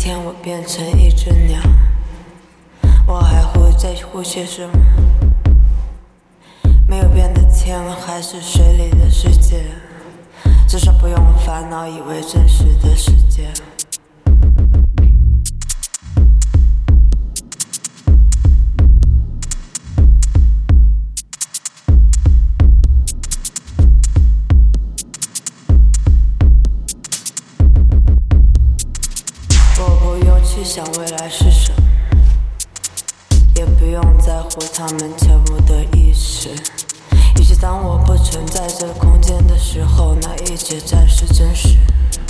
天我变成一只鸟，我还会在乎些什么？没有变的天还是水里的世界，至少不用烦恼以为真实的世界。去想未来是什么，也不用在乎他们全部的意识。以及当我不存在这空间的时候，那一切才是真实。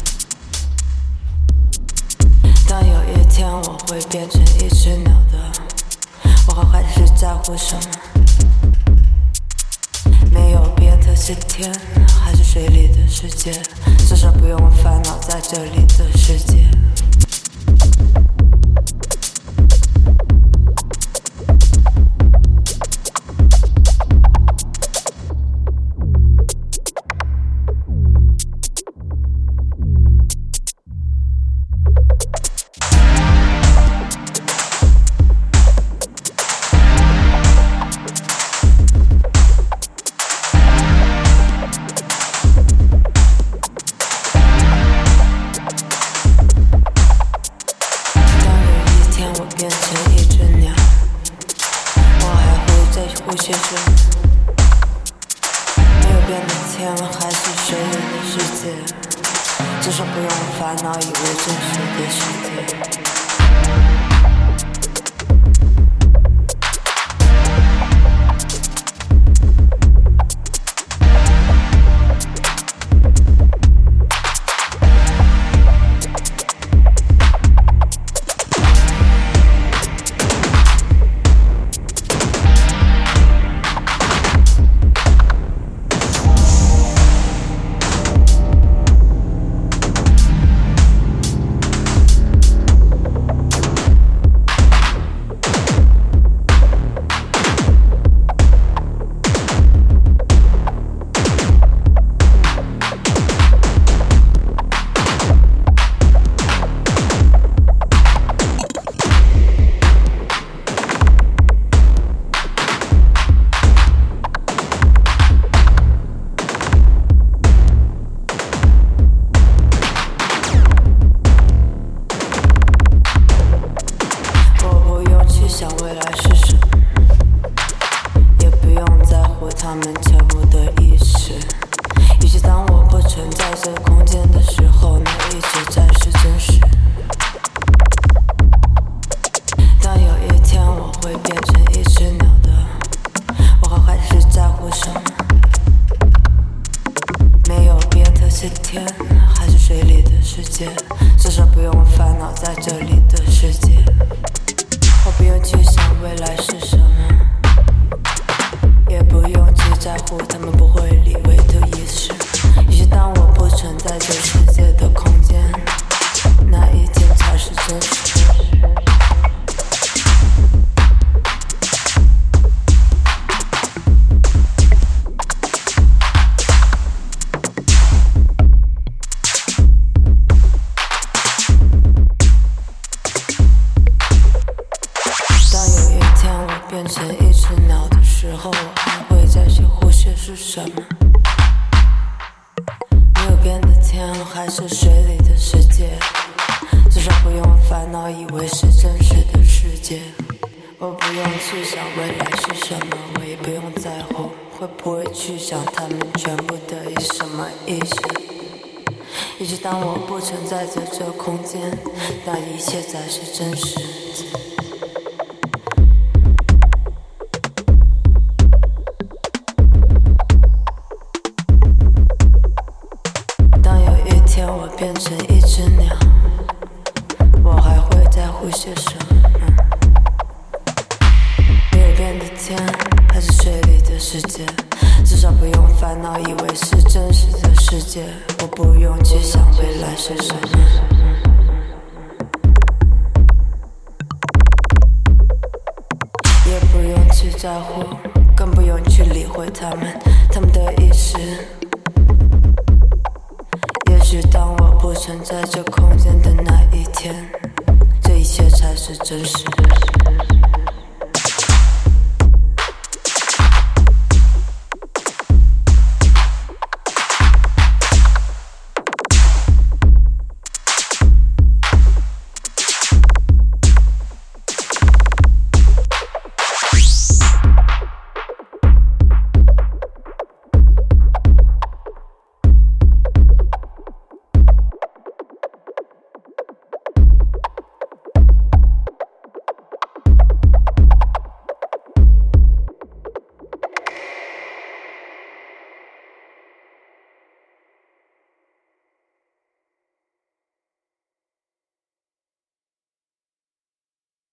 当有一天我会变成一只鸟的，我还是在乎什么？没有变的是天还是水里的世界，至少不用烦恼在这里的世界。变成一只鸟，我还会在乎些什么？没有变的天还是水里的世界，至少不用烦恼以为真实的世界。想未来是什么，也不用在乎他们全部的意识。以及当我不存在这空间的时候，那一切才是真实。当有一天我会变成一只鸟的，我还是在乎什么？没有变的是天还是水里的世界，至少不用烦恼在这里的世界。我不用去想未来是什么，也不用去在乎他们不会理会的意识。以及当我不存在这世界的空间，那一天才是真实。变成一只鸟的时候，我还会在乎些是什么？没有变的天还是水里的世界，至少不用烦恼以为是真实的世界。我不用去想未来是什么，我也不用在乎会不会去想他们全部的以什么意识。以及当我不存在在这空间，那一切才是真实。我变成一只鸟，我还会在乎些什么？没有变的天还是水里的世界，至少不用烦恼以为是真实的世界。我不用去想未来是什么，也不用去在乎，更不用去理会他们的意识。也许当我不存在这空间的那一天， 切才是真实。